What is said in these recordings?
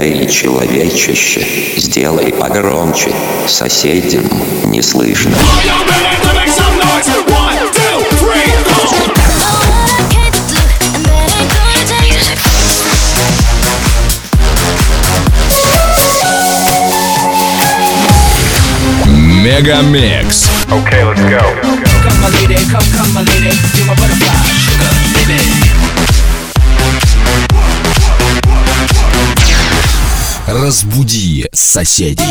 Эй, человечище, сделай погромче, соседям не слышно. Мегамикс. Okay, let's go. Come my lady, come my lady, you're my butterfly, sugar, baby. Разбуди соседей.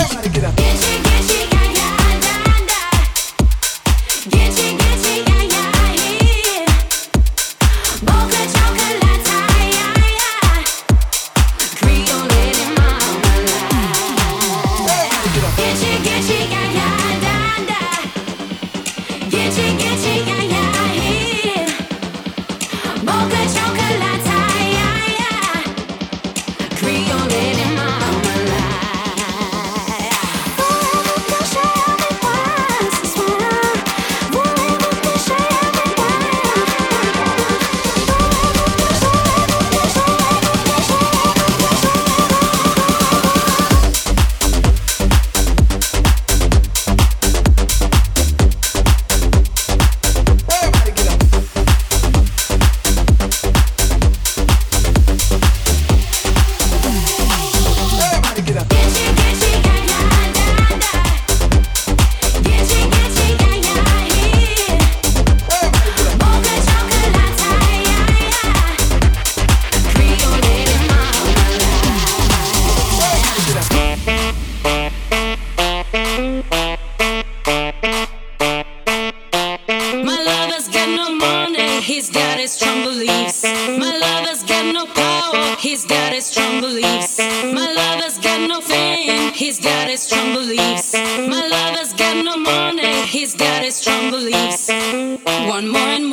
He's got his strong beliefs. My lover's got no power. He's got his strong beliefs. My lover's got no fame. He's got his strong beliefs. My lover's got no money. He's got his strong beliefs. Want more and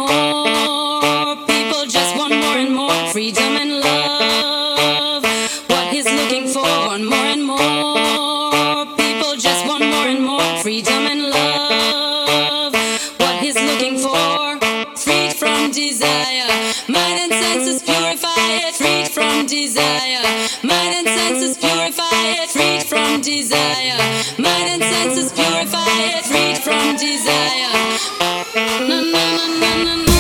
more. People just want more and more. Freedom and love. What he's looking for. Want more and more. People just want more and more. Freedom and love. What he's looking for. Freed from desire, mind and senses purified. Freed from desire, mind and senses purified. Freed from desire, mind and senses purified. Freed from desire. Na na na na na na.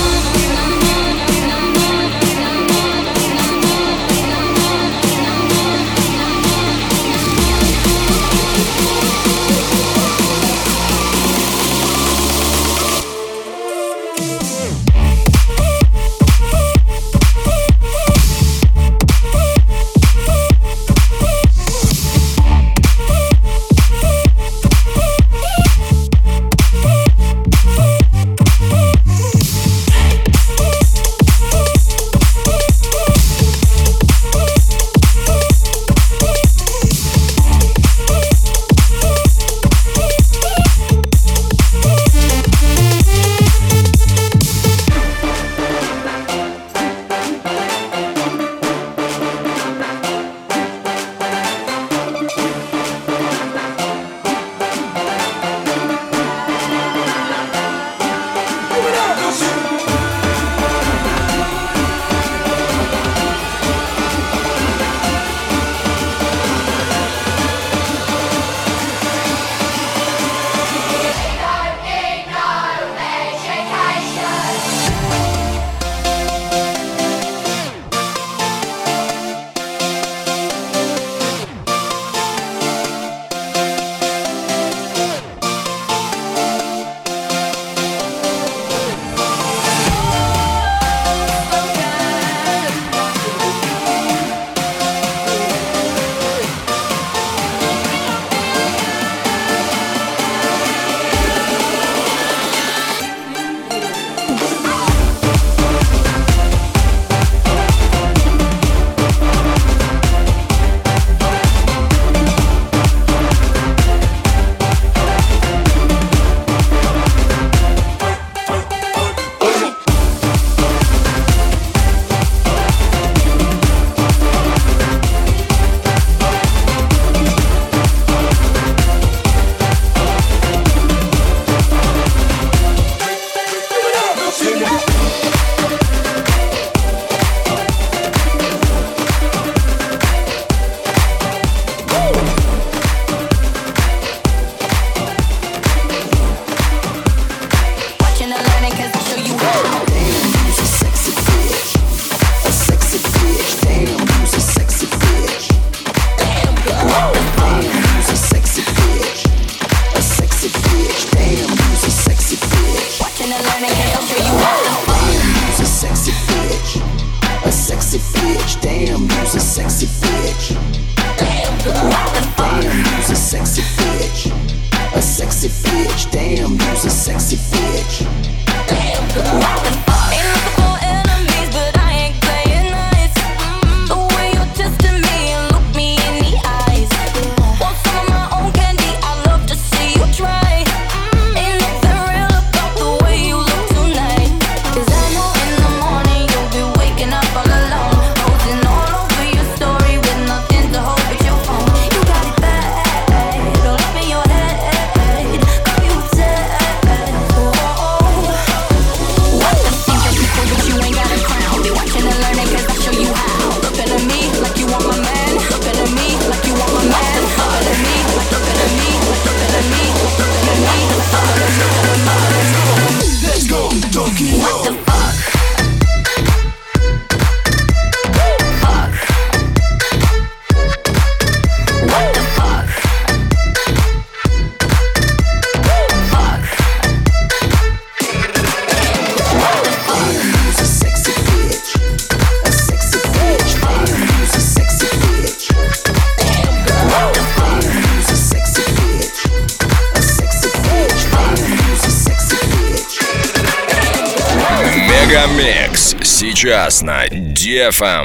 Мегамикс сейчас на DFM.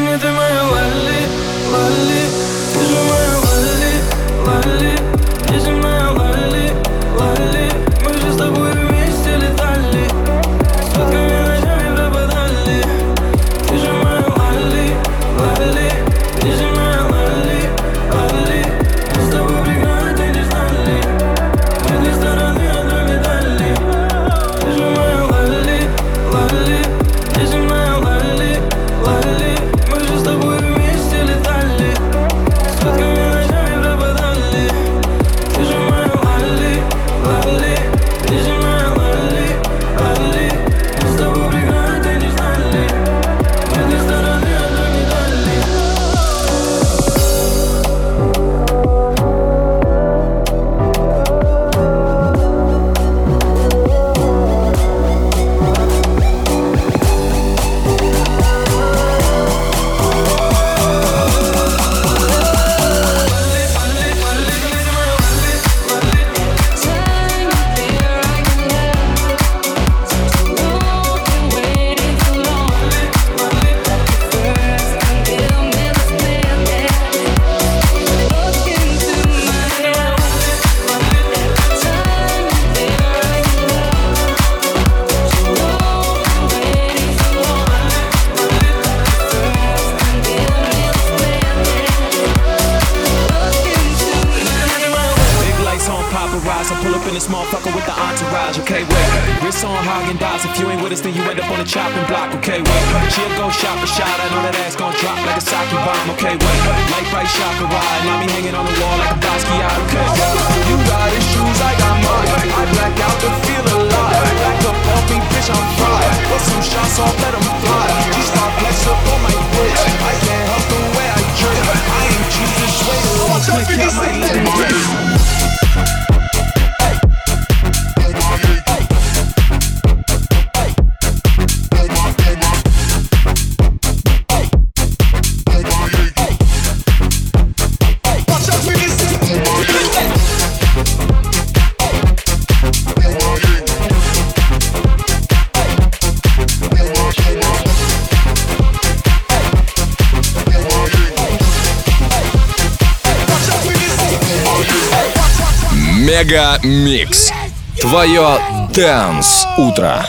Мегамикс. Твое Dance утро.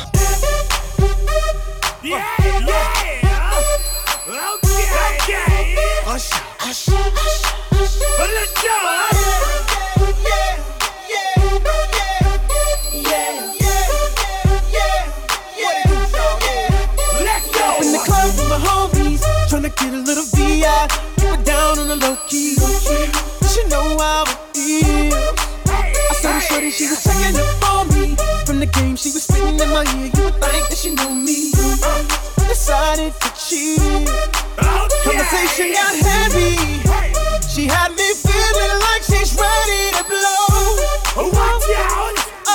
Tryna get a little VI, keep it down on the low key. She know how it feels. I saw the shorty, she was checking up on me. From the game, she was spitting in my ear. You would think that she know me. Decided to cheat. Conversation got heavy. She had me feeling like she's ready to blow. Watch out!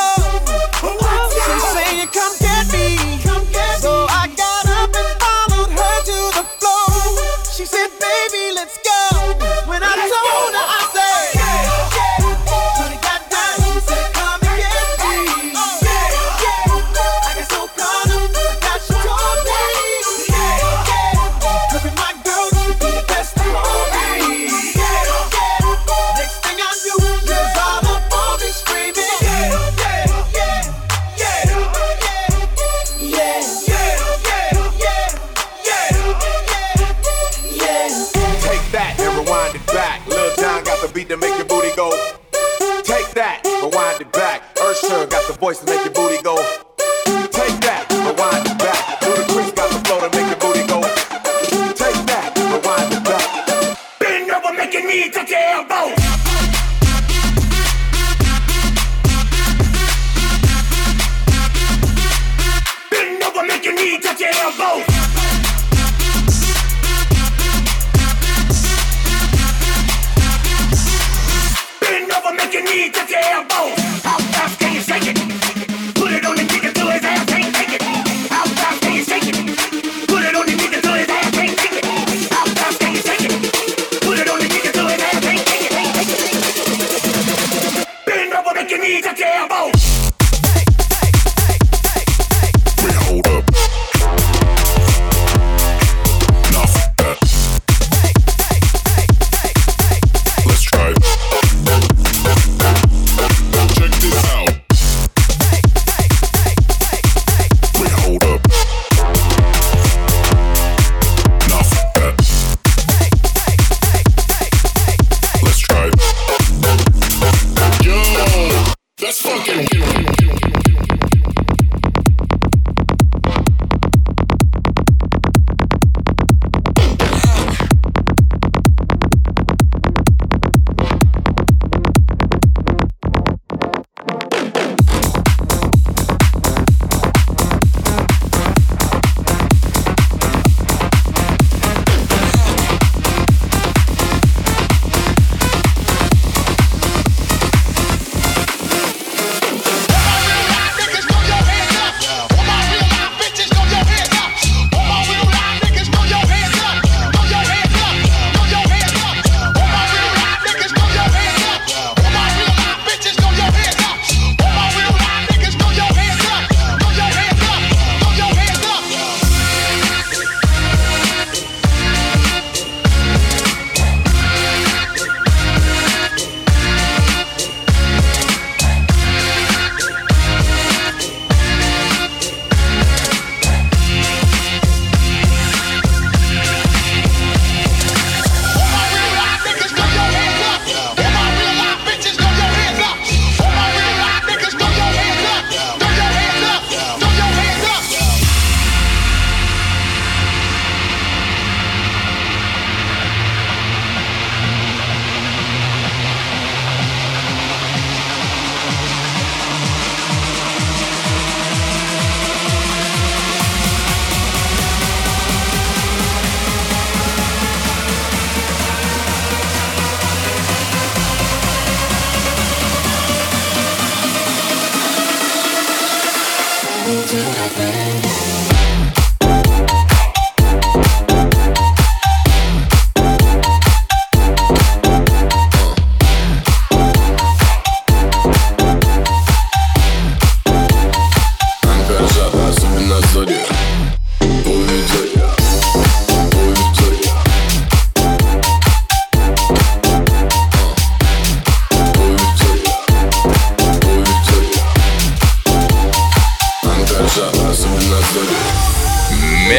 She's saying, come get me. So I got up and followed her to the floor. She said, baby, let's go. When I told her, I said, when it got down, she said, come and get me. I got so caught up, forgot she told me. Cause with my girl, she be the best of me. Next thing I knew, she was all up on me screaming. Beat to make your booty go. Take that, rewind it back. Ursher got the voice to make your booty go. Take that, rewind it back. Ludacris got the flow to make your booty go. Take that, rewind it back. Bend over, make your knee touch your elbow. Bend over, make your knee touch your elbow. Make your knee touch your elbow. How fast can you shake it? Put it on the nigga till his ass can't take it. How fast can you shake it? Put it on the nigga till his ass can't take it. How fast can you shake it? Put it on the nigga till his ass can't take it. Bend over, make your knee touch your elbow. Wait, hold up.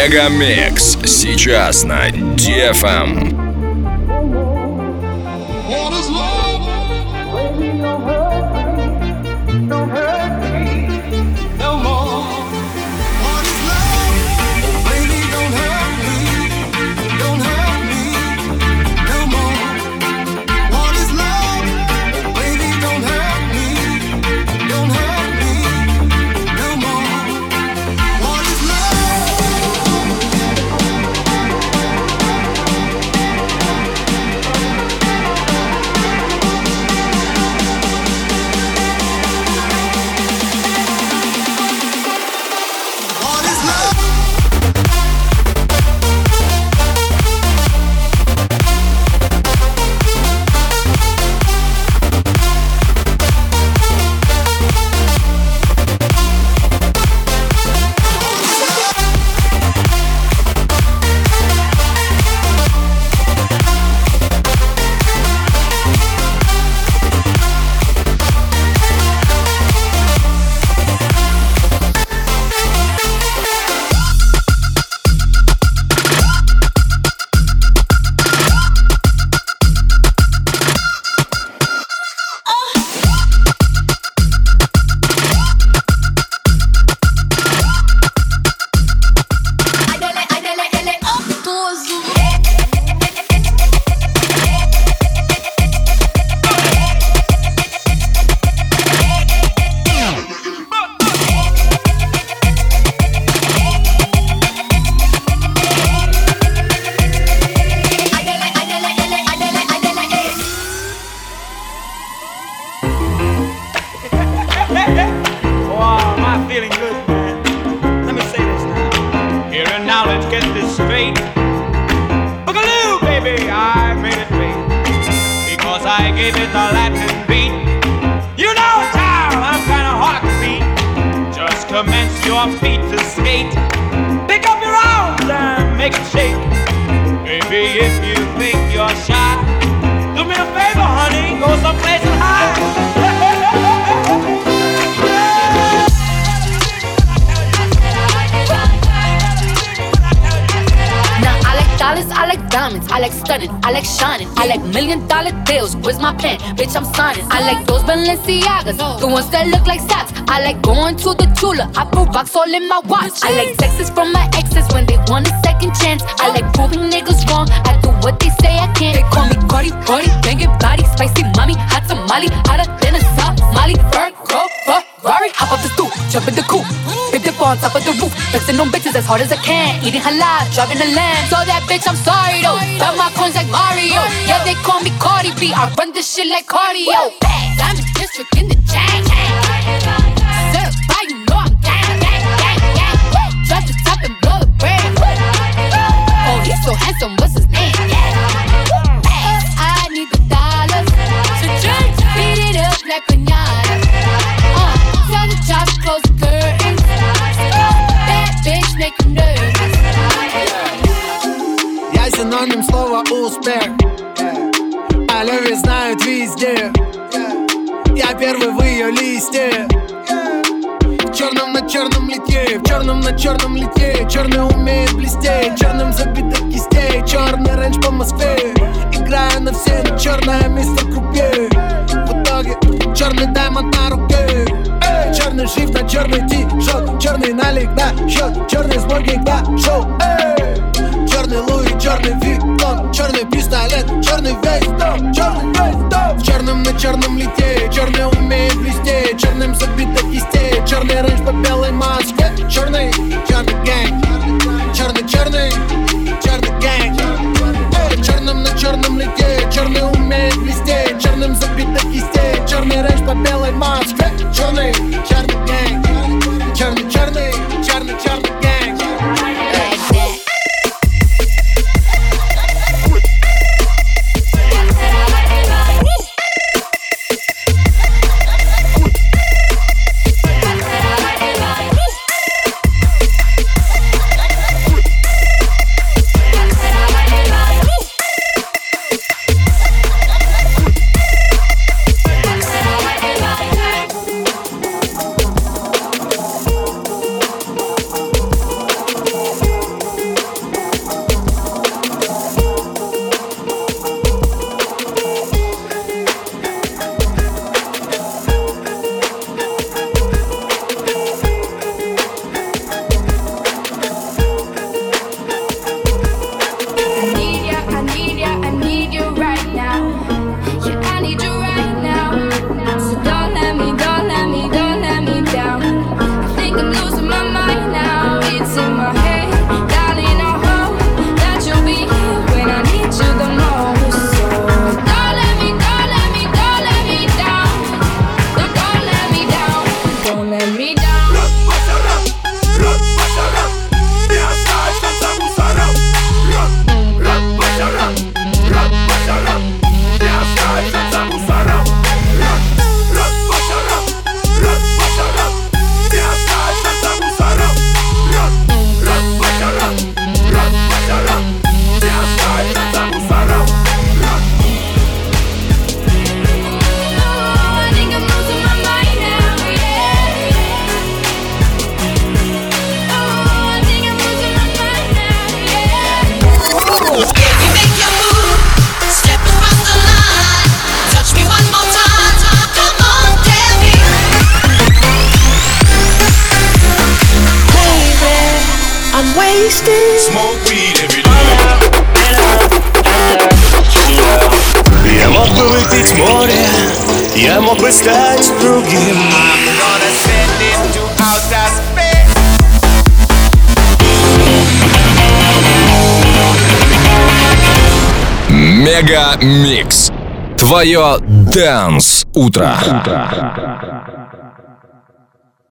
Мегамикс сейчас на DFM. I like stunning, I like shining, I like $1 million deals. Where's my pen? Bitch, I'm signing. I like those Balenciagas, the ones that look like socks. I like going to the Tula, I put rocks all in my watch. I like texts from my exes when they want a second chance. I like proving niggas wrong, I do what they say I can't. They call me Cardi, Cardi, banging body, spicy mommy, hot tamale, hotter than a Somali. Ferrari, hop off the stoop, jump in the coupe, big dip on top of the roof, flexing on bitches as hard as I can, eating halal, driving a lamb. So that bitch, I'm sorry though, got my coins like Mario. Yeah, they call me Cardi B, I run this shit like cardio. I'm in district in the chain. Certified, you know I'm gang. Drop the top and blow the brand. Oh, he's so handsome, what's his name? I need the dollars, so beat it up like pinata. Tell the job to close the curtains. That bitch make you nervous. Я синоним слова успех. О любви знают везде. Я первый в ее листе. В черном на черном литье, в черном на черном литье. Черный умеет блестеть, черным забито кистей. Черный рейндж по Москве, играю на все, но черная мистер Крупье. В итоге черный даймонд на руке. Черный шрифт на черный ти-шот, черный налик на счет, черный смокинг на шоу. Черный Луи, черный Виттон, черный пистолет, черный весь дом, черный весь дом. В черном на черном литье, черный умеет блестеть, черным забито кистей, черный рейндж по белой Москве. Черный, черный гэнг, черный, черный, черный гэнг. В черном на черном литье, черный умеет блестеть, черным забито кистей, черный рейндж по белой Москве. Черный, черный гэнг, черный, черный, черный, черный гэнг. wasted. Smoke weed every day. Я мог бы выпить море, я мог бы стать другим. I'm gonna send it to outer space. Мега Микс. Твое Dance утро.